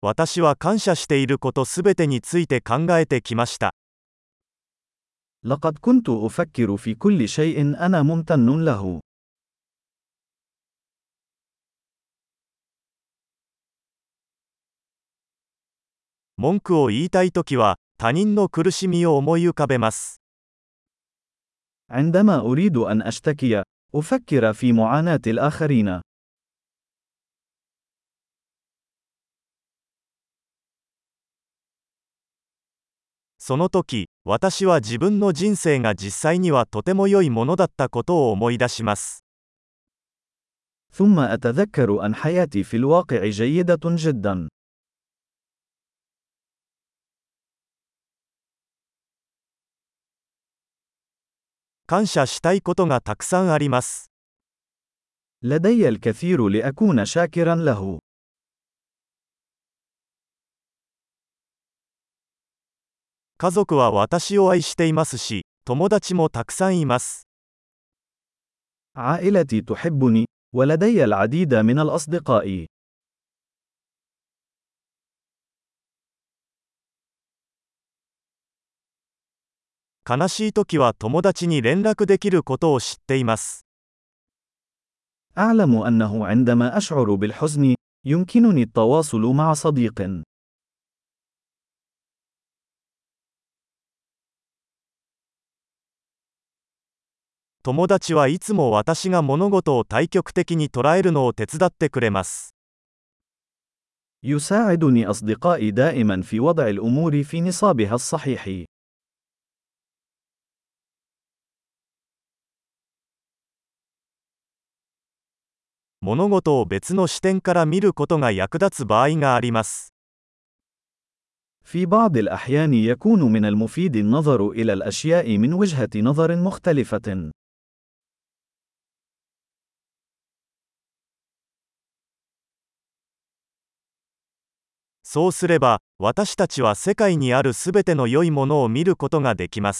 私は感謝していることすべてについて考えてきました。 لقد كنت أفكر في كل شيء أنا ممتن له. 文句を言いたいときは、他人の苦しみを思い浮かべます。 عندما أريد أن أشتكي، أفكر في معاناة الآخرين. その時、私は自分の人生が実際にはとても良いものだったことを思い出します。 ثم أتذكر أن حياتي في الواقع جيدة جدا. 感謝したいことがたくさんあります。 لدي الكثير لأكون شاكرا له. 家族は私を愛していますし、友達もたくさんいます。 عائلتي تحبني، ولدي العديد من الأصدقاء. 悲しいときは友達に連絡できることを知っています。 أعلم أنه عندما أشعر بالحزن، يمكنني التواصل مع صديق. 友達はいつも私が物事を対極的に捉えるのを手伝ってくれます。 يساعدني أصدقائي دائما في وضع الأمور في نصابها الصحيح. 物事を別の視点から見ることが役立つ場合があります。 في بعض الأحيان يكون من المفيد النظر إلى الأشياء من وجهة نظر مختلفة. そうすれば、私たちは世界にあるすべての良いものを見ることができます。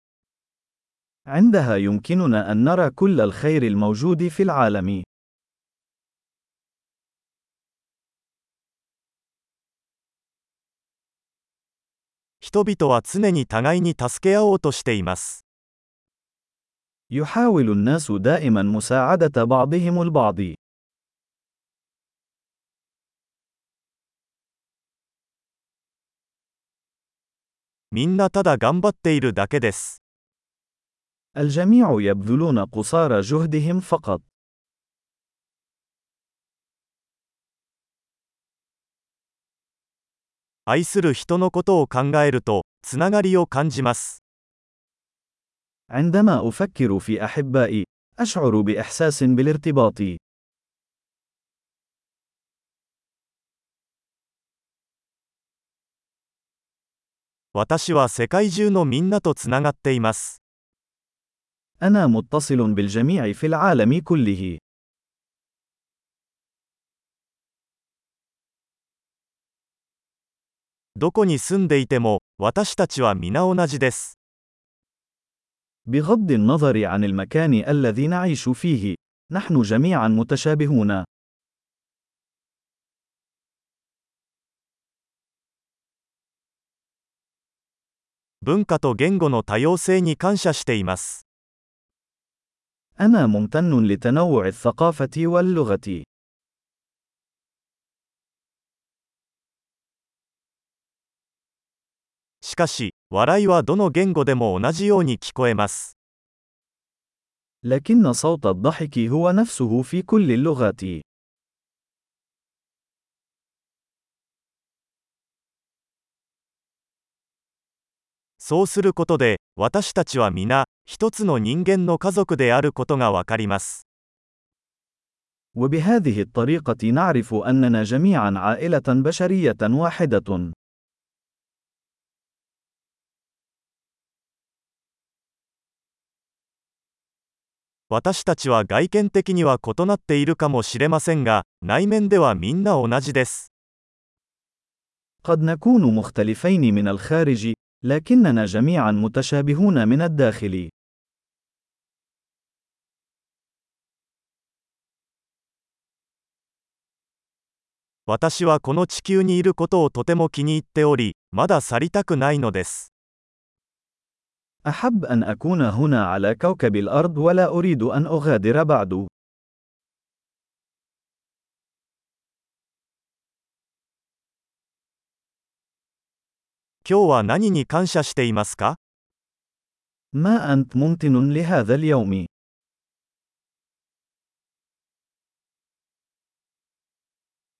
عندها يمكننا أن نرى كل الخير الموجود في العالم. 人々は常に互いに助け合おうとしています。 يحاول الناس دائما مساعدة بعضهم البعض. みんなただ頑張っているだけです。 الجميع يبذلون قصارى جهدهم فقط. 愛する人のことを考えると、つながりを感じます。 عندما أفكر في أحبائي، أشعر بإحساس بالارتباط. 私は世界中のみんなとつながっています。 أنا متصل بالجميع في العالم كله. どこに住んでいても、私たちは皆同じです。 بغض النظر عن المكان الذي نعيش فيه، نحن جميعا متشابهون. 文化と言語の多様性に感謝しています。 أنا ممتن لتنوع الثقافة واللغة. しかし、笑いはどの言語でも同じように聞こえます。 لكن صوت الضحك هو نفسه في كل اللغات. そうすることで、私たちは皆、一つの人間の家族であることがわかります。 وبهذه الطريقة نعرف أننا جميعا عائلة بشرية واحدة. 私たちは外見的には異なっているかもしれませんが、内面ではみんな同じです。 قد نكون مختلفين من الخارج، لكننا جميعا متشابهون من الداخل. 私はこの地球にいることをとても気に入っており、まだ去りたくないのです。 أحب أن أكون هنا على كوكب الأرض ولا أريد أن أغادر بعد. 今日は何に感謝していますか？ ما أنت ممتن لهذا اليوم؟